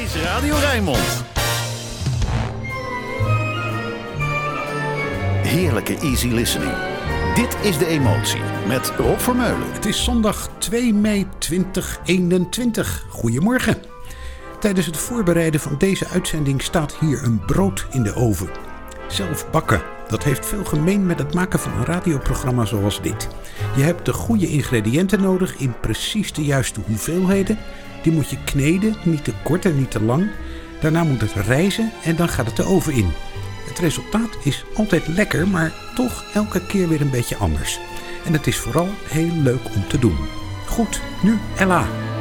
is Radio Rijnmond. Heerlijke easy listening. Dit is De Emotie met Rob Vermeulen. Het is zondag 2 mei 2021. Goedemorgen. Tijdens het voorbereiden van deze uitzending staat hier een brood in de oven. Zelf bakken. Dat heeft veel gemeen met het maken van een radioprogramma zoals dit. Je hebt de goede ingrediënten nodig in precies de juiste hoeveelheden. Die moet je kneden, niet te kort en niet te lang. Daarna moet het rijzen en dan gaat het de oven in. Het resultaat is altijd lekker, maar toch elke keer weer een beetje anders. En het is vooral heel leuk om te doen. Goed, nu Ella.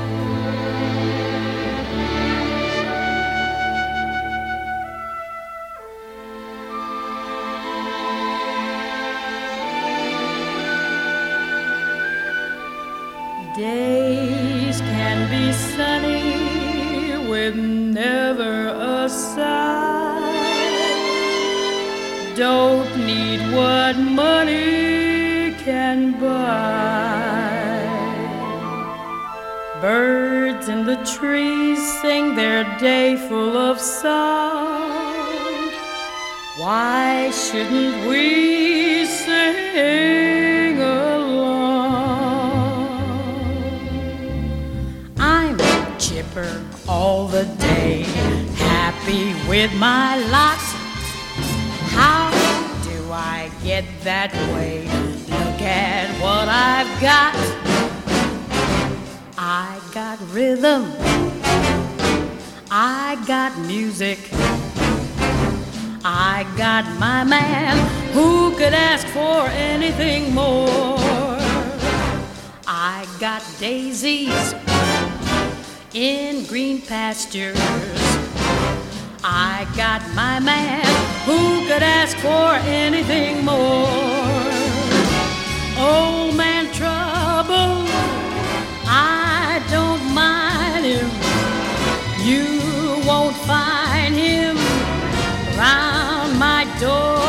Days can be sunny with never a sigh. Don't need what money can buy. Birds in the trees sing their day full of song. Why shouldn't we sing along? I'm chipper all the day, happy with my lot. How do I get that way? Look at what I've got. I got rhythm, I got music, I got my man. Who could ask for anything more? I got daisies in green pastures, I got my man. Who could ask for anything more? Old man trouble, I don't mind him. You won't find him round my door.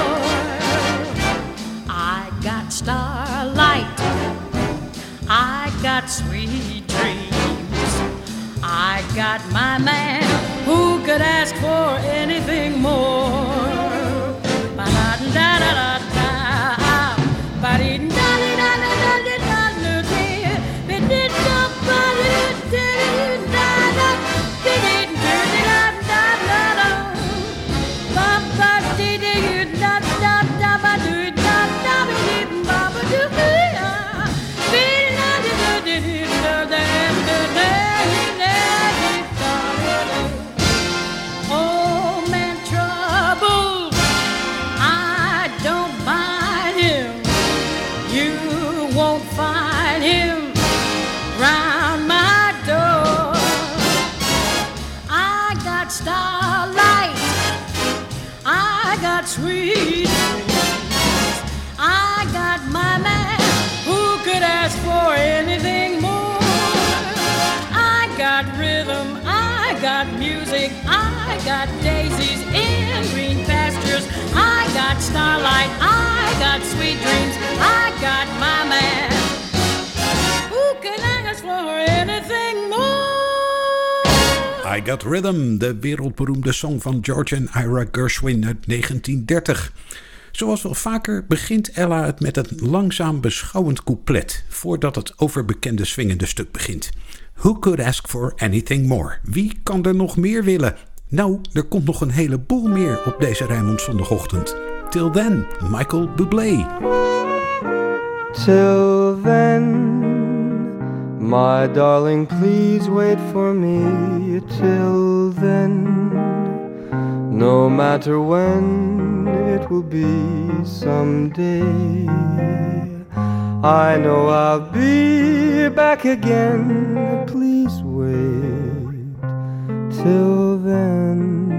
I got starlight, I got sweet dreams, I got my man. Who could ask for anything more? Sweet dreams, I got my man. Who could ask for anything more? I got rhythm, I got music, I got daisies in green pastures, I got starlight, I got sweet dreams, I got my man. Who can ask for anything more? I Got Rhythm, de wereldberoemde song van George en Ira Gershwin uit 1930. Zoals wel vaker begint Ella het met een langzaam beschouwend couplet, voordat het overbekende swingende stuk begint. Who could ask for anything more? Wie kan er nog meer willen? Nou, er komt nog een heleboel meer op deze Rijnmond zondagochtend. Till then, Michael Bublé. Till then, my darling, please wait for me. Till then, no matter when it will be someday, I know I'll be back again. Please wait till then.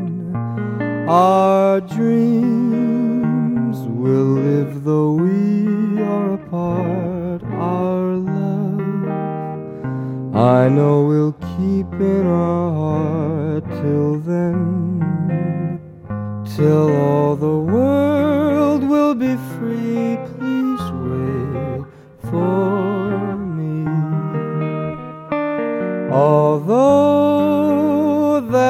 Our dreams will live though we are apart. Our love, I know we'll keep in our heart till then. Till all the world will be free. Please wait for me. Although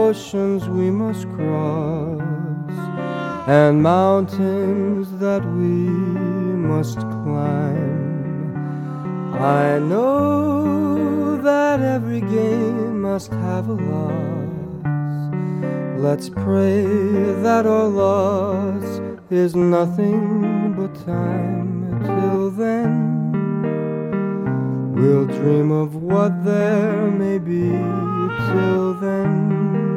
oceans we must cross, and mountains that we must climb. I know that every gain must have a loss. Let's pray that our loss is nothing but time. Till then, we'll dream of what there may be. Till then,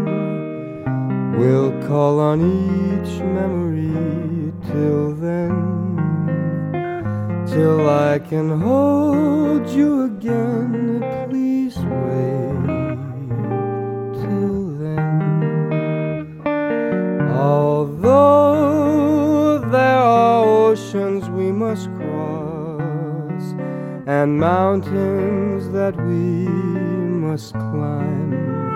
we'll call on each memory. Till then, till I can hold you again, please wait. Till then, although there are oceans we must cross, and mountains that we must climb,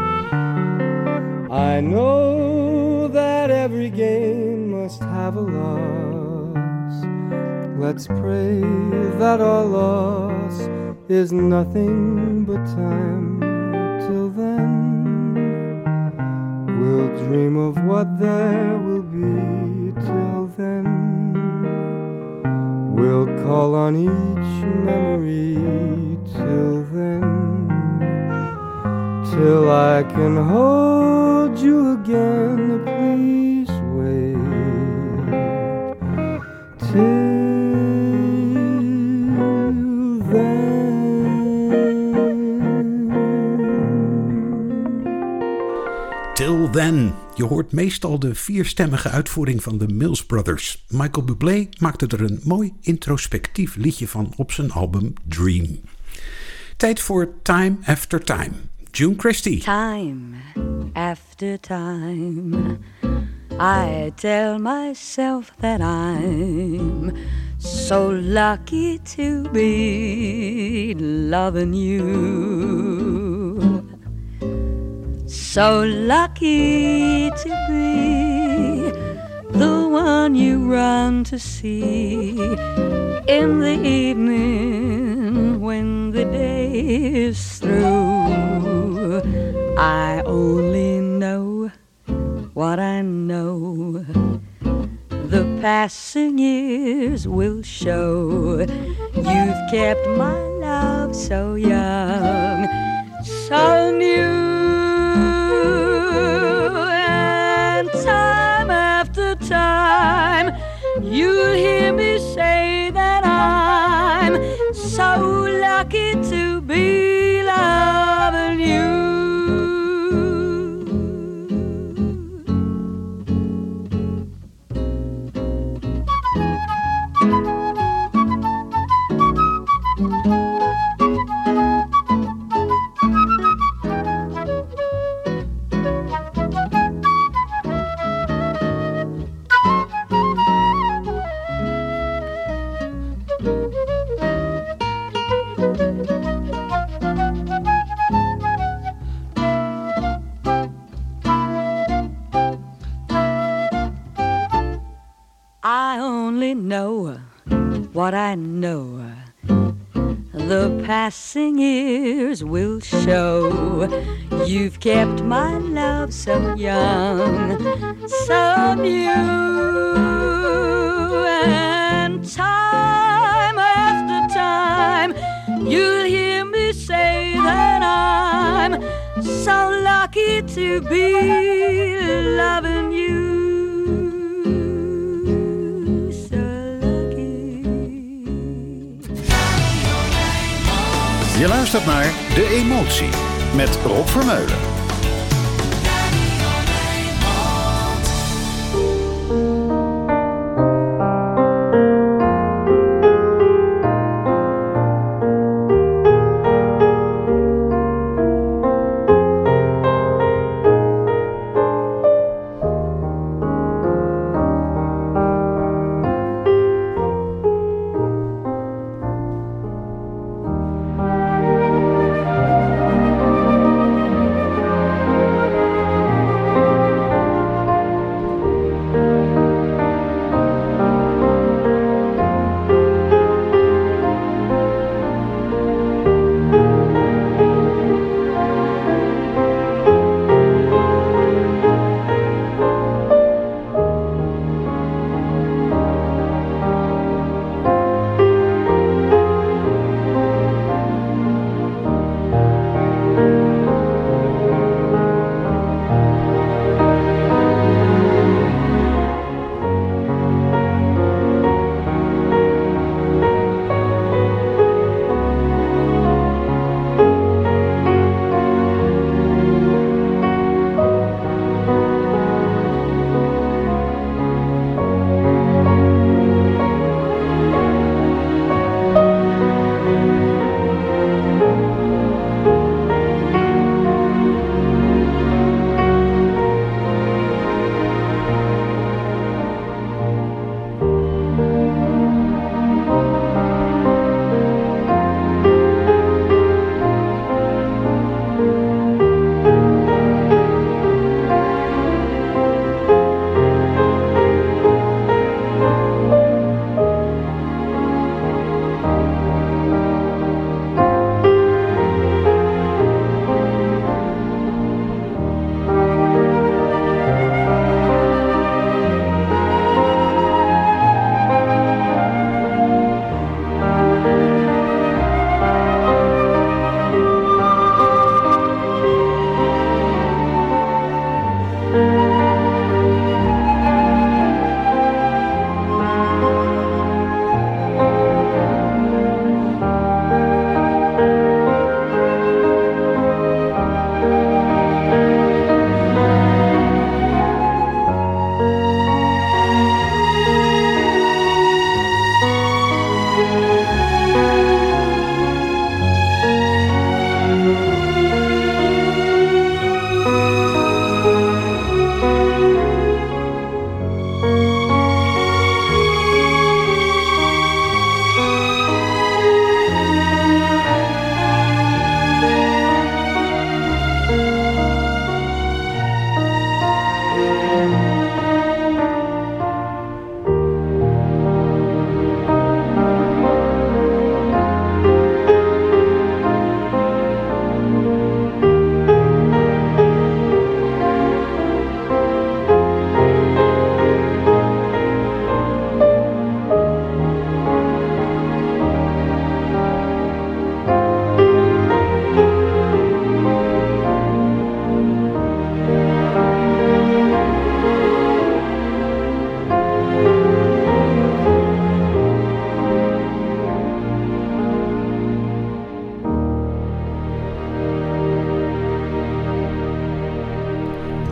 I know that every gain must have a loss. Let's pray that our loss is nothing but time. Till then, we'll dream of what there will be. Till then, we'll call on each memory. Till then, till I can hold you again, please wait. Till Till Then. Je hoort meestal de vierstemmige uitvoering van de Mills Brothers. Michael Bublé maakte er een mooi introspectief liedje van op zijn album Dream. Tijd voor Time After Time. June Christy. Time after time, I tell myself that I'm so lucky to be loving you. So lucky to be the one you run to see in the evening when the day is through. I only know what I know. The passing years will show. You've kept my love so young, so new. And time after time, you'll hear me say that I'm so lucky to be loving you. I only know what I know. The passing years will show. You've kept my love so young, so new. And time after time, you'll hear me say that I'm so lucky to be loving you. Je luistert naar De Emotie met Rob Vermeulen.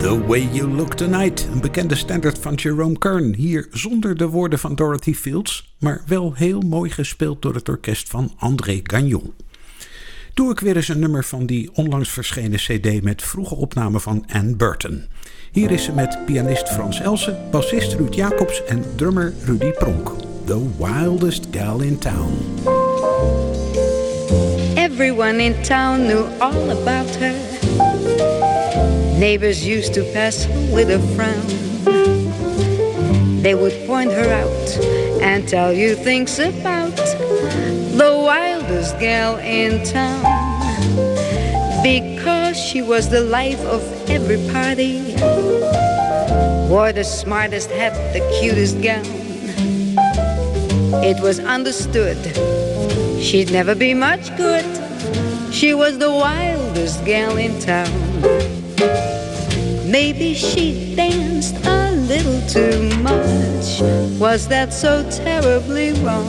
The Way You Look Tonight, een bekende standaard van Jerome Kern. Hier zonder de woorden van Dorothy Fields, maar wel heel mooi gespeeld door het orkest van André Gagnon. Doe ik weer eens een nummer van die onlangs verschenen cd met vroege opnamen van Ann Burton. Hier is ze met pianist Frans Elsen, bassist Ruud Jacobs en drummer Rudy Pronk. The Wildest Gal in Town. Everyone in town knew all about her. Neighbors used to pass her with a frown. They would point her out and tell you things about the wildest gal in town. Because she was the life of every party, wore the smartest hat, the cutest gown. It was understood she'd never be much good. She was the wildest gal in town. Maybe she danced a little too much. Was that so terribly wrong?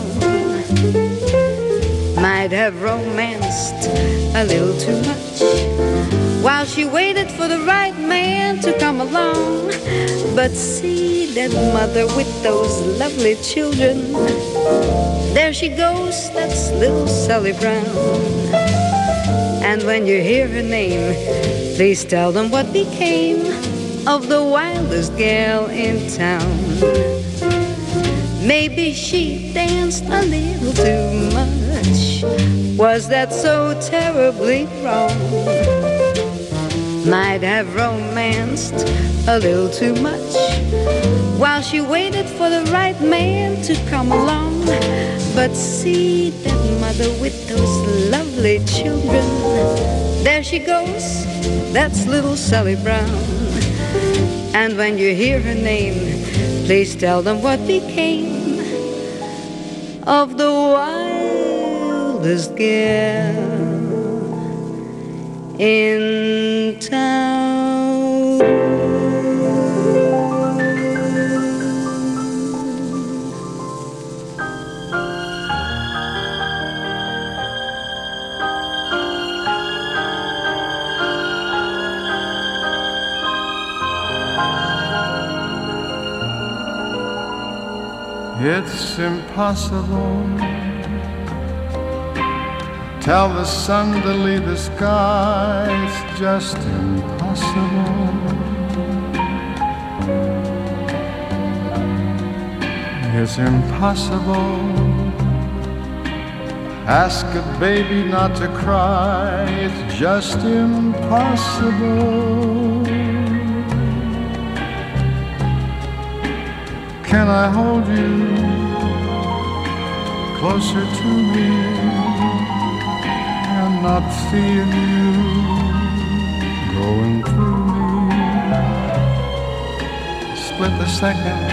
Might have romanced a little too much while she waited for the right man to come along. But see that mother with those lovely children. There she goes, that's little Sally Brown. And when you hear her name, please tell them what became of the wildest gal in town. Maybe she danced a little too much. Was that so terribly wrong? Might have romanced a little too much while she waited for the right man to come along. But see that mother with those lovely children. There she goes, that's little Sally Brown. And when you hear her name, please tell them what became of the wildest gal in town. It's impossible. Tell the sun to leave the sky. It's just impossible. It's impossible. Ask a baby not to cry. It's just impossible. Can I hold you closer to me and not feel you going through me? Split the second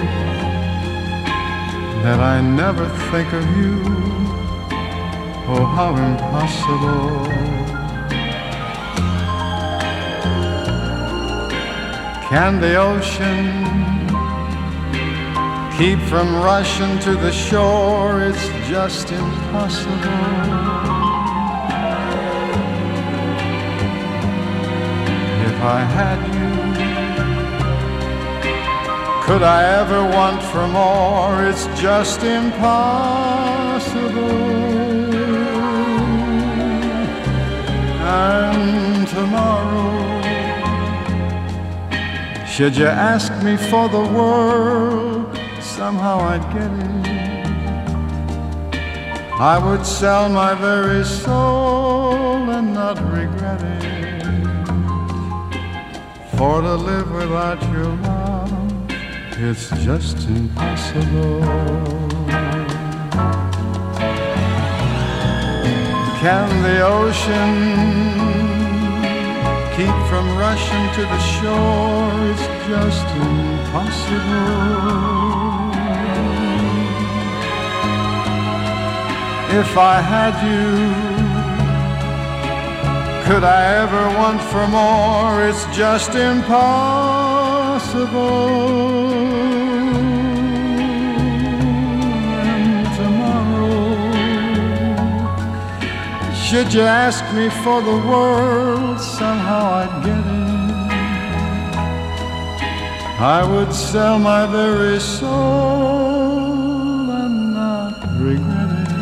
that I never think of you. Oh, how impossible. Can the ocean keep from rushing to the shore? It's just impossible. If I had you, could I ever want for more? It's just impossible. And tomorrow, should you ask me for the world, somehow I'd get it. I would sell my very soul and not regret it. For to live without your love, it's just impossible. Can the ocean keep from rushing to the shore? It's just impossible. If I had you, could I ever want for more? It's just impossible. And tomorrow, should you ask me for the world, somehow I'd get it. I would sell my very soul and not regret it.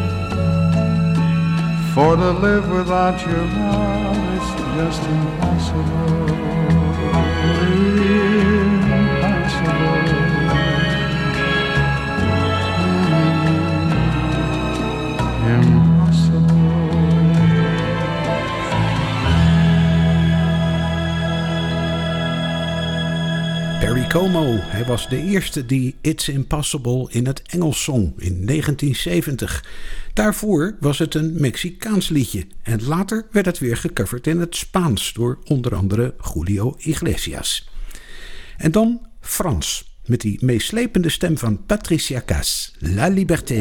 For to live without your love is just impossible. Perry Como, hij was de eerste die It's Impossible in het Engels zong in 1970. Daarvoor was het een Mexicaans liedje en later werd het weer gecoverd in het Spaans door onder andere Julio Iglesias. En dan Frans, met die meeslepende stem van Patricia Cass, La Liberté.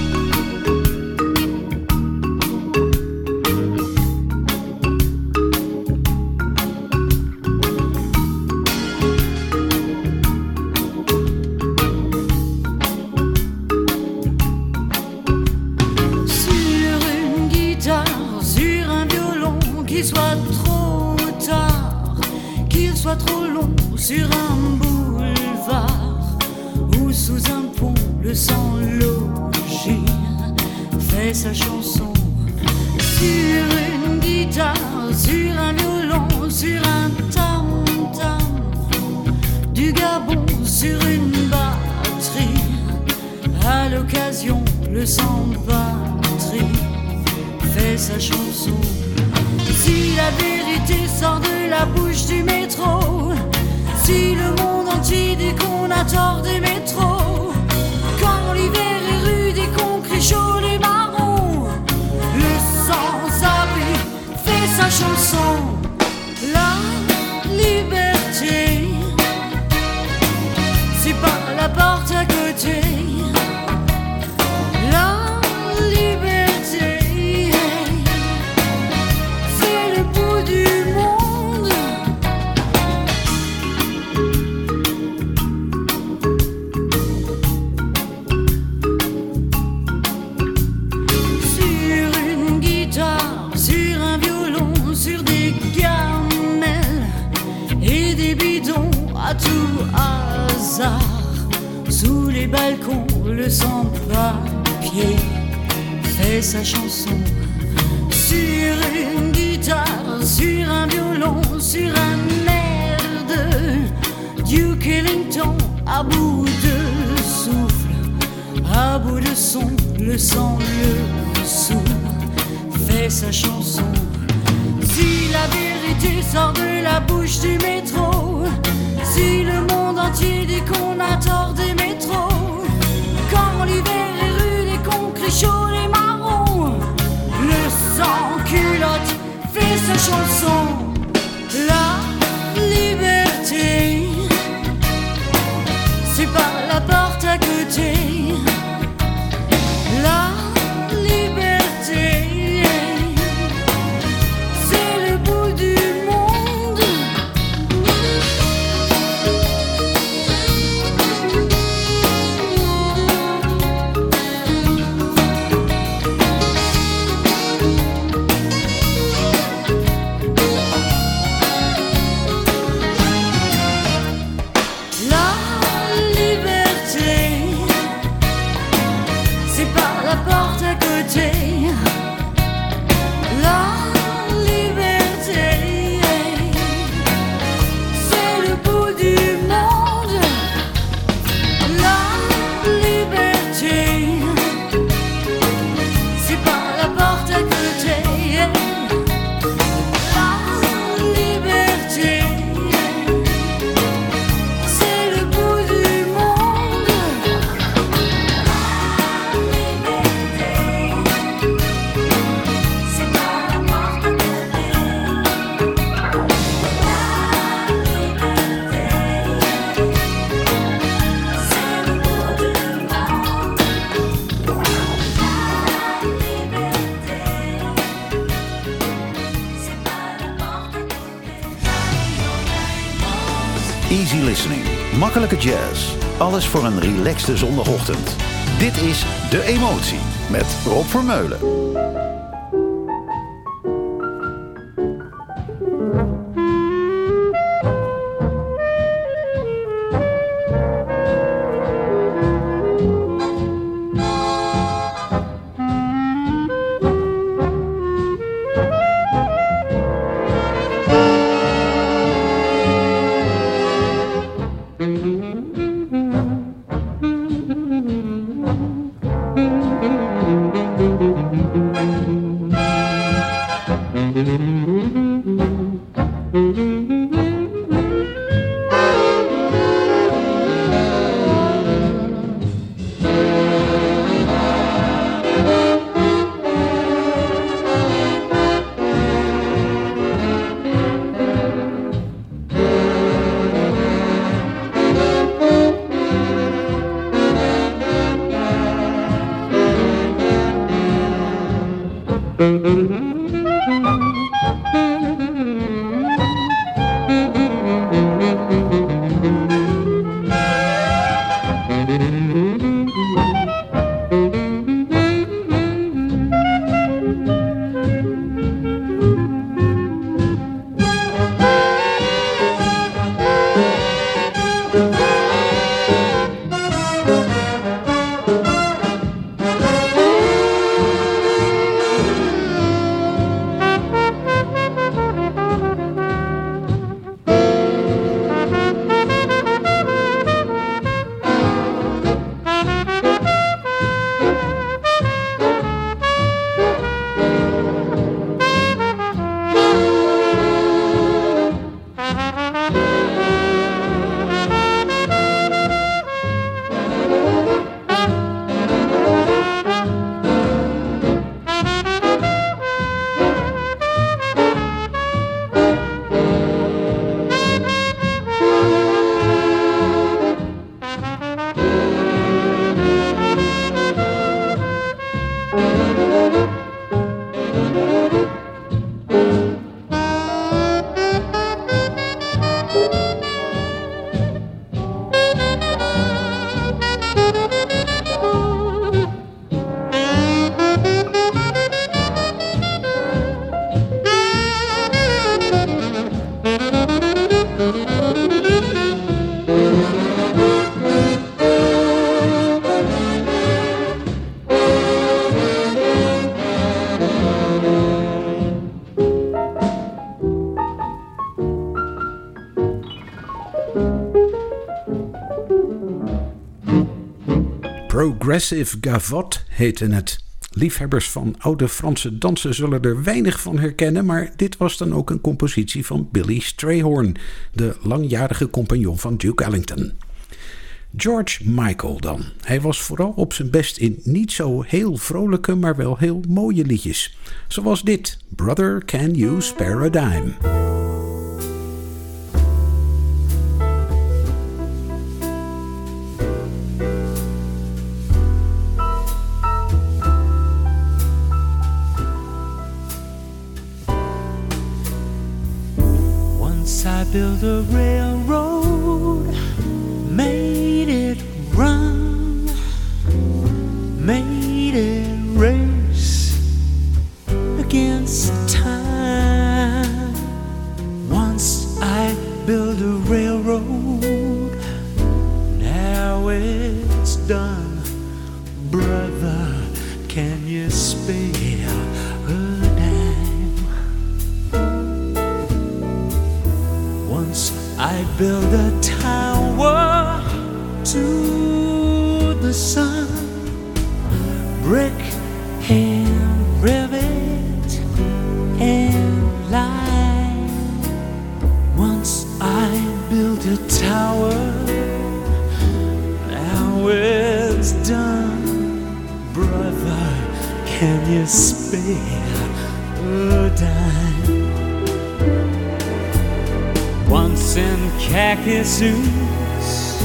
Trop long sur un boulevard ou sous un pont, le sans-logis fait sa chanson sur une guitare, sur un violon, sur un tam-tam du Gabon, sur une batterie. À l'occasion, le sans-batterie fait sa chanson. Si la vérité sort de la bouche du métro, si le monde entier dit qu'on a tort des métros, quand l'hiver est rude et qu'on crie chaud les marrons, le sans-abri fait sa chanson. La liberté, c'est pas la porte à côté. La tout hasard, sous les balcons, le sans-papier fait sa chanson. Sur une guitare, sur un violon, sur un air de Duke Ellington, à bout de souffle, à bout de son, le sang, le sourd fait sa chanson. Si la vérité sort de la bouche du métro, si le monde entier dit qu'on a tort des métros, quand l'hiver est rude et qu'on crie chaud les marrons, le sans-culotte fait sa chanson. La liberté, c'est pas la porte à côté. La liberté, c'est le bout du monde. Easy listening, makkelijke jazz. Alles voor een relaxte zondagochtend. Dit is De Emotie met Rob Vermeulen. Progressive Gavotte heette het. Liefhebbers van oude Franse dansen zullen er weinig van herkennen, maar dit was dan ook een compositie van Billy Strayhorn, de langjarige compagnon van Duke Ellington. George Michael dan. Hij was vooral op zijn best in niet zo heel vrolijke, maar wel heel mooie liedjes. Zoals dit, Brother Can You Spare a Dime? I built a railroad, made it run, made it race against time. Once I built a railroad, now it's done. Brother, can you spare a dime? Once I built a tower to the sun, brick and rivet and line. Once I built a tower, now it's done. Brother, can you spare a dime? Once in khaki suits,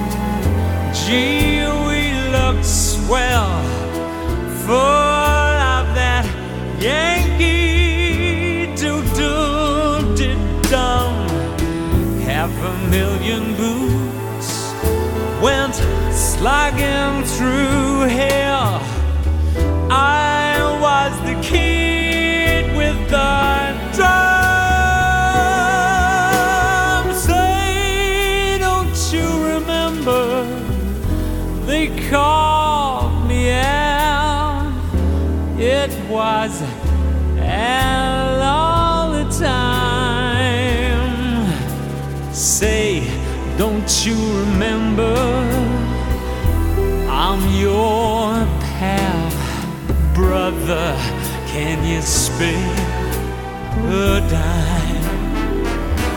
gee, we looked swell, full of that Yankee do-do-dum. 500,000 boots went slogging through hell. I was the kid with the drum. Say, don't you remember? They called me out. It was Al all the time. Say, don't you remember? I'm your pal, brother. Can you spare a dime?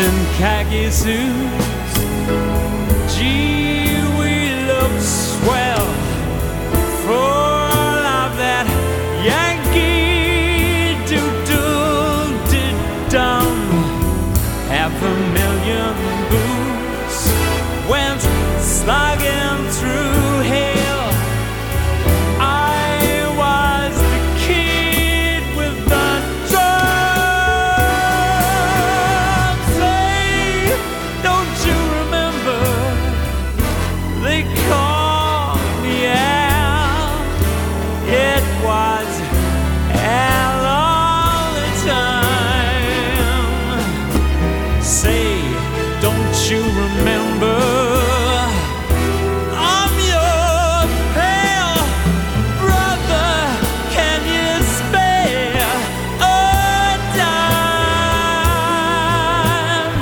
in khaki suits. Gee, we look swell full of that Yankee doodle-dum. 500,000 boots went slugging through hell. I was the kid with the drums. Say, don't you remember? They called me Al. It was Al all the time. Say, don't you remember? I'm your pale brother. Can you spare a dime,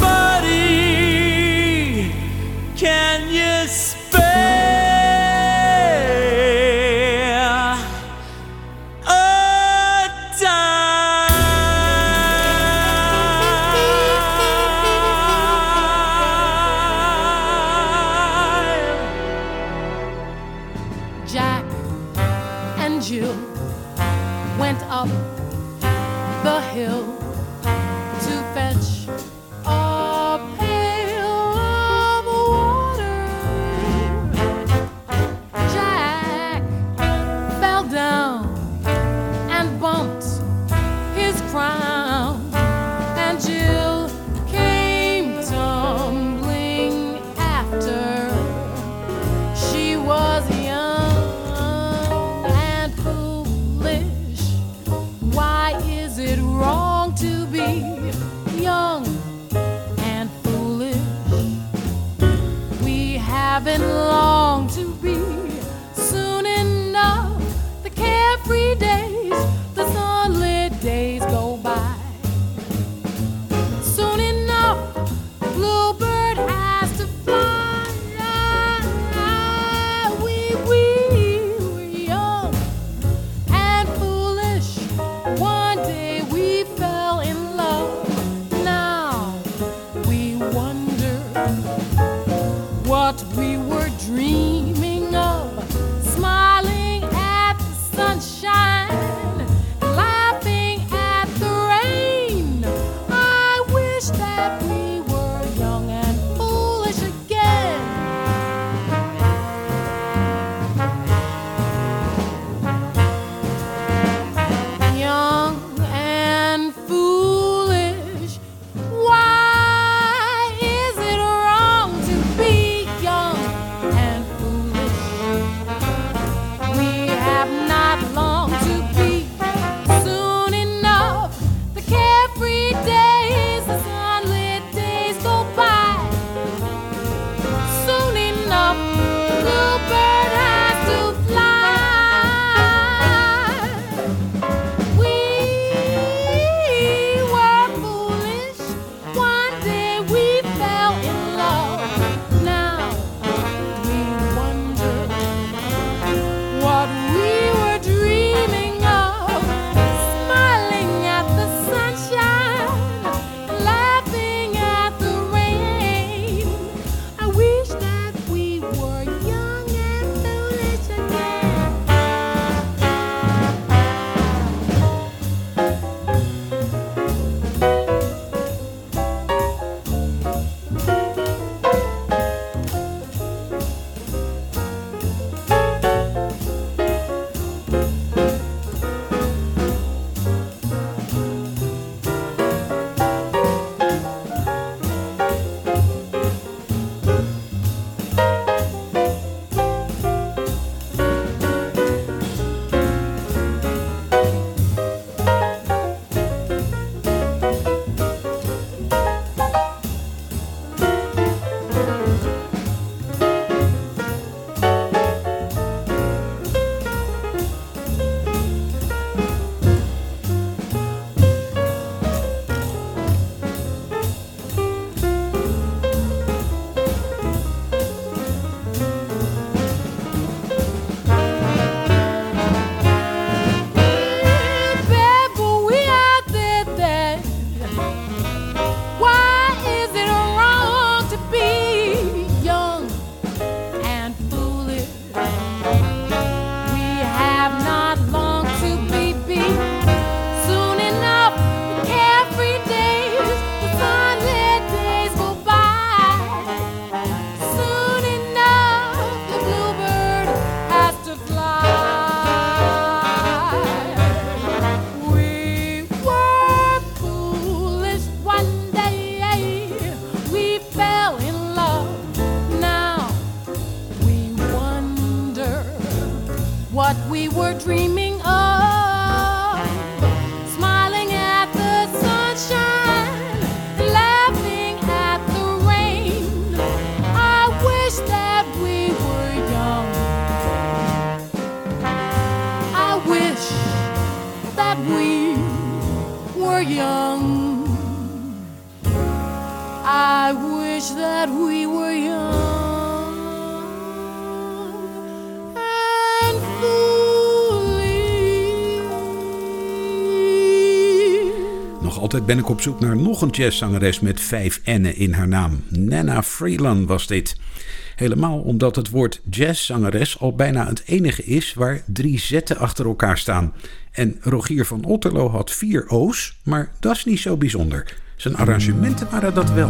buddy? Can you spare a dime? Jack and Jill went up the hill to fetch a pail of water. Jack fell down and bumped his crown, and Jill came tumbling after. She was young and foolish. Why is it wrong to be young and foolish? We haven't long to be. Soon enough, the carefree days, the sunlit days go by. Soon enough, the bluebird has to fly. We were young and foolish. One day we fell in love. Now we wonder what we were dreaming of. Smiling at the sunshine, laughing at the rain. I wish that we were young and foolish again. Young and foolish. Why is it wrong to be young and foolish? We have not long dreaming of, smiling at the sunshine, laughing at the rain. I wish that we were young. I wish that we were young. I wish that we were young and foolish. Nog altijd ben ik op zoek naar nog een jazzzangeres met 5 N'en in haar naam. Nana Freeland was dit. Helemaal omdat het woord jazzzangeres al bijna het enige is waar 3 zetten achter elkaar staan. En Rogier van Otterlo had 4 O's, maar dat is niet zo bijzonder. Zijn arrangementen waren dat wel.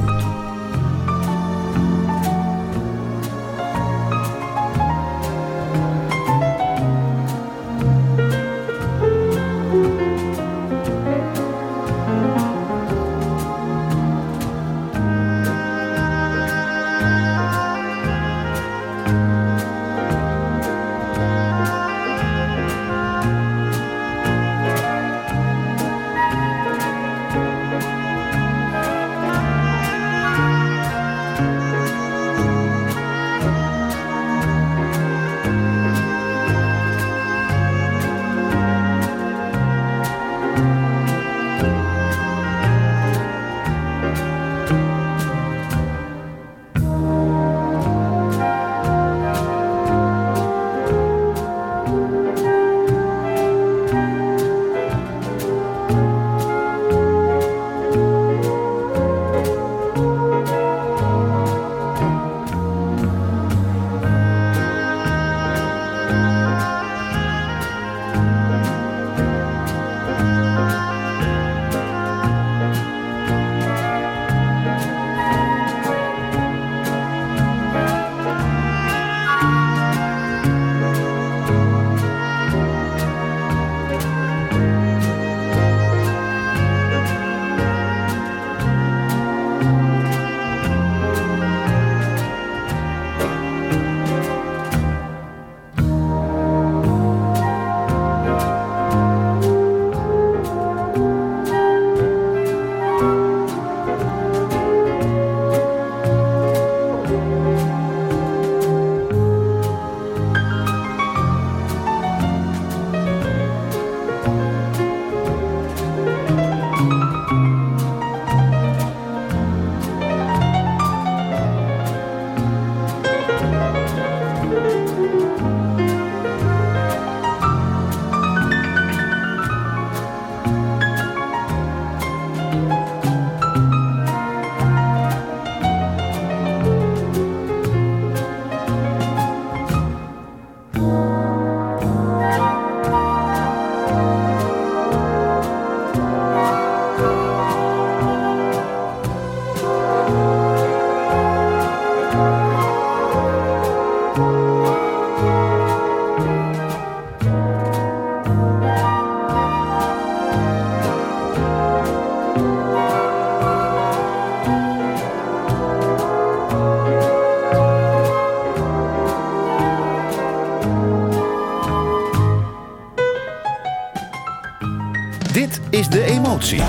Dit is De Emotie.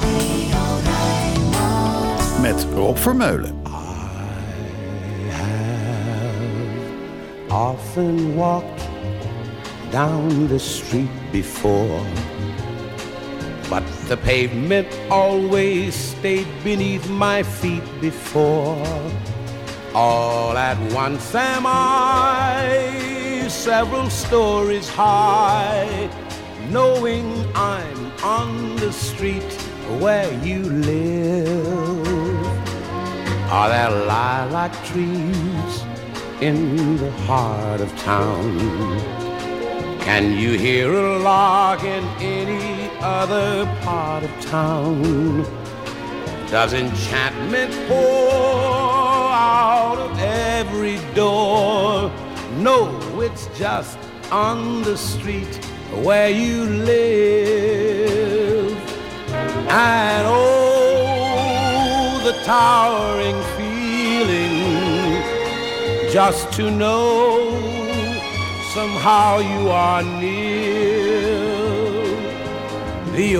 Met Rob Vermeulen. Often walked down the street before, but the pavement always stayed beneath my feet before. All at once am I several stories high, knowing I'm on the street where you live. Are there lilac trees in the heart of town? Can you hear a lark in any other part of town? Does enchantment pour out of every door? No, it's just on the street where you live. And oh, the towering feeling just to know somehow you are near. the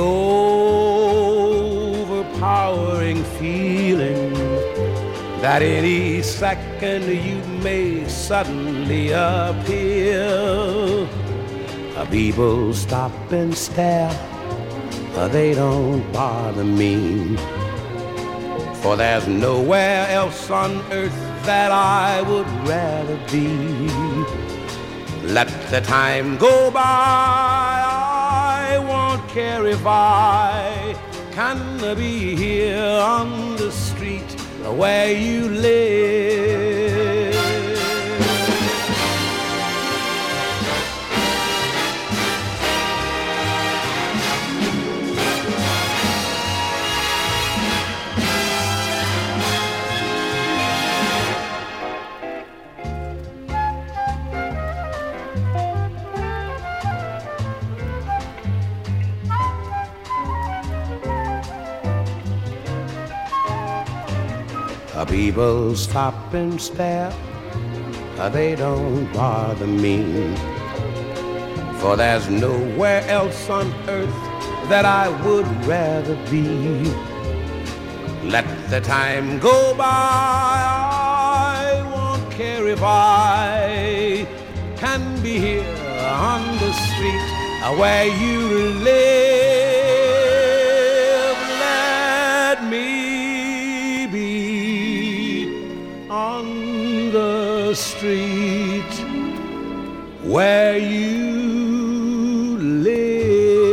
overpowering feeling that any second you may suddenly appear. People stop and stare, they don't bother me, for there's nowhere else on earth that I would rather be. Let the time go by, I won't care if I can be here on the street where you live. People stop and stare, they don't bother me, for there's nowhere else on earth that I would rather be. Let the time go by, I won't care if I can be here on the street where you live. Let me on the street where you live.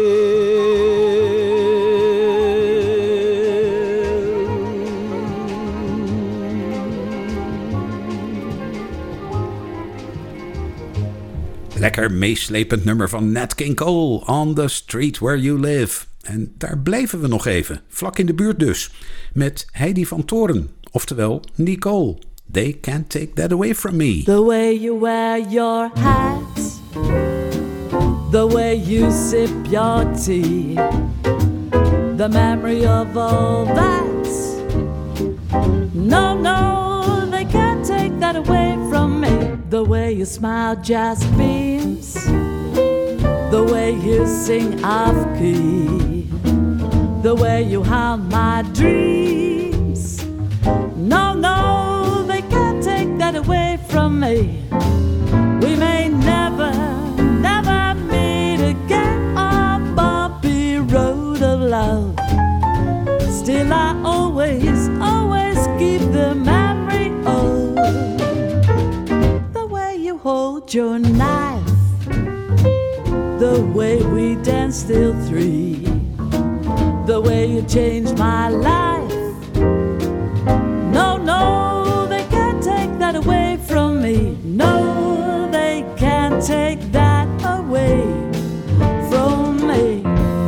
Lekker meeslepend nummer van Nat King Cole, On the Street Where You Live. En daar bleven we nog even, vlak in de buurt dus, met Heidi van Toren, oftewel Nicole. They can't take that away from me. The way you wear your hat, the way you sip your tea, the memory of all that. No, no, they can't take that away from me. The way you smile just beams, the way you sing off key, the way you haunt my dreams. No, no, they can't take that away from me. We may never, never meet again on bumpy road of love. Still I always, always keep the memory of the way you hold your knife, the way we danced till 3, the way you changed my life. No, no, they can't take that away from me. No, they can't take that away from me.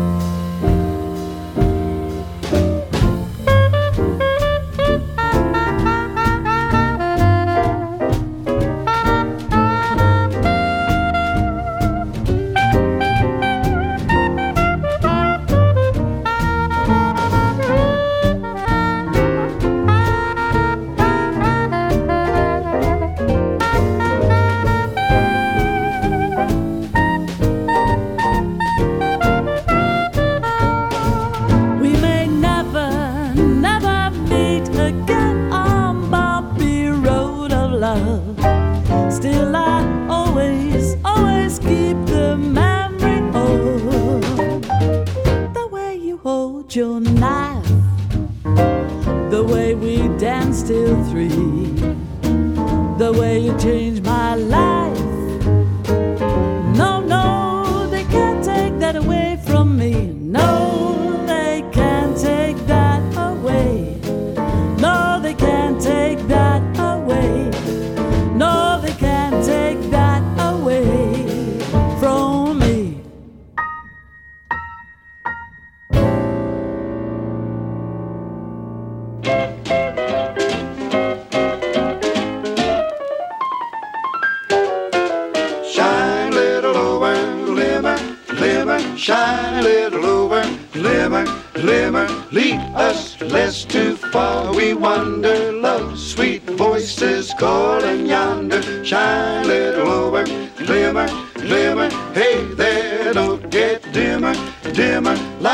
Still I always, always keep the memory of the way you hold your knife, the way we danced till 3, the way you changed my life. No, no, they can't take that away from me. No, they can't take that away. No, they can't take that away. No, they can't take that away from me. Shine little over, glimmer, glimmer, shine little over, glimmer, glimmer, lead us less too far. We wander, love, sweet voices calling yonder. Shine little over, glimmer, glimmer, hey there, don't get dimmer, dimmer.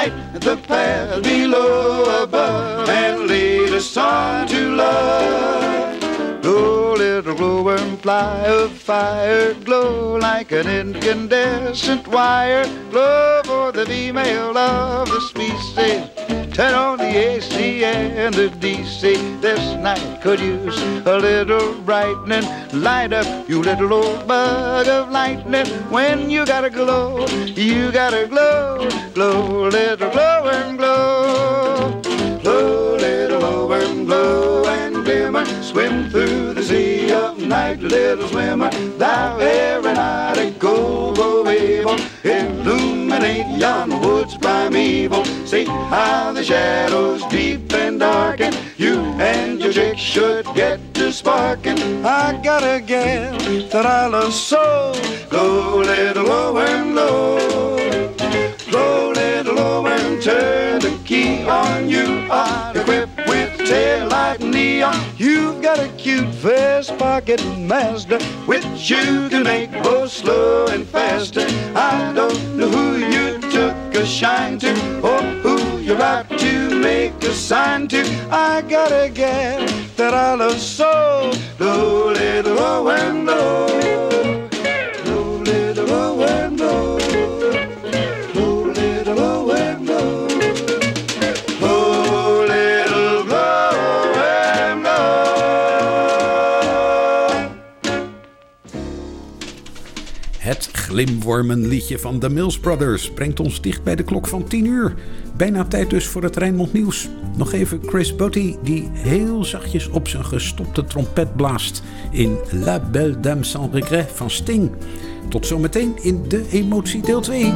the fire, glow like an incandescent wire. Glow for the female of the species. Turn on the AC and the DC. This night could use a little brightening. Light up, you little old bug of lightning. When you gotta glow, you gotta glow. Glow, little glow and glow. Glow, little glow and glow and glimmer. Swim through the sea of night, little swimmer. Thou every night a go able. Illuminate yon woods primeval. See how the shadows deep and darken. You and your chick should get to sparking. I got a gal that I love so. Glow, little glow and glow. Glow, little glow and turn the key on. You are equipped with tail light neon. You've got a cute vest pocket master, which you can make both slow and faster. I don't know who you took a shine to, or who you're about to make a sign to. I got a gal that I love so. Glow, little glow and glow. Glow, little glow and glow. Glow, little glow and glow. Glow, little glow and glow. Het glimwormenliedje van de Mills Brothers brengt ons dicht bij de klok van 10 uur. Bijna tijd dus voor het Rijnmond Nieuws. Nog even Chris Botti die heel zachtjes op zijn gestopte trompet blaast in La Belle Dame sans regret van Sting. Tot zometeen in De Emotie deel 2.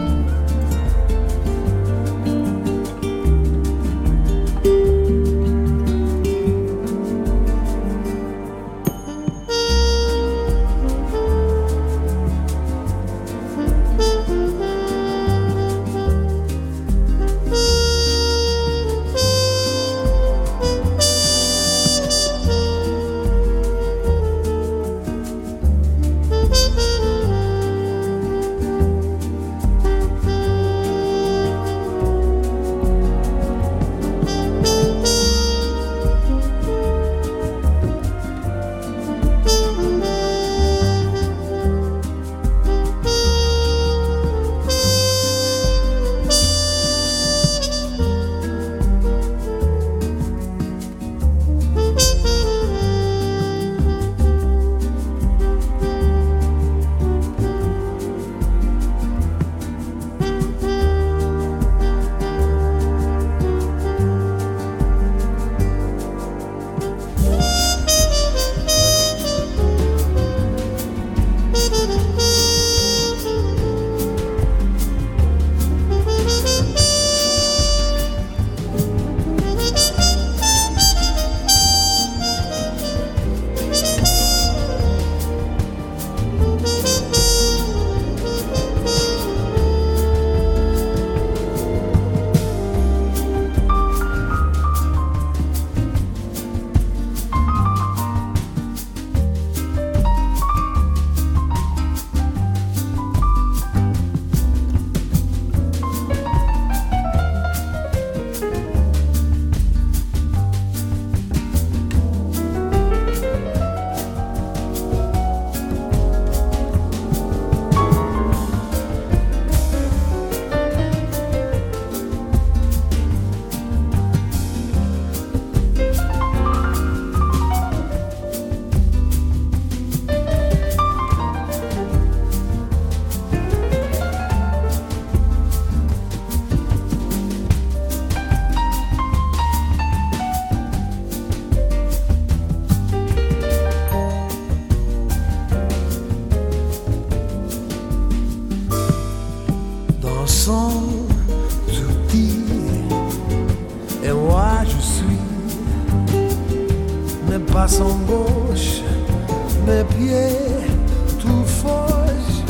Passant gauche, mes pieds tout foge.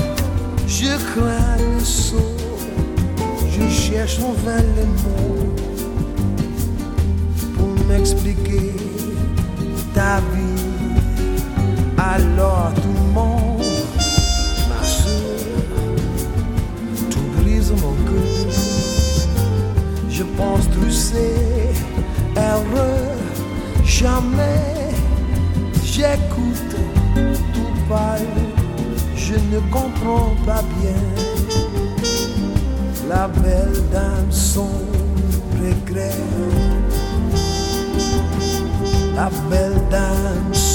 Je crains le saut, je cherche en vain les mots pour m'expliquer ta vie. Alors tout le monde, ma soeur, tout brise mon cœur. Je pense tu sais, erreur, jamais. J'écoute tout parler. je ne comprends pas bien. La belle dame son regret. La belle dame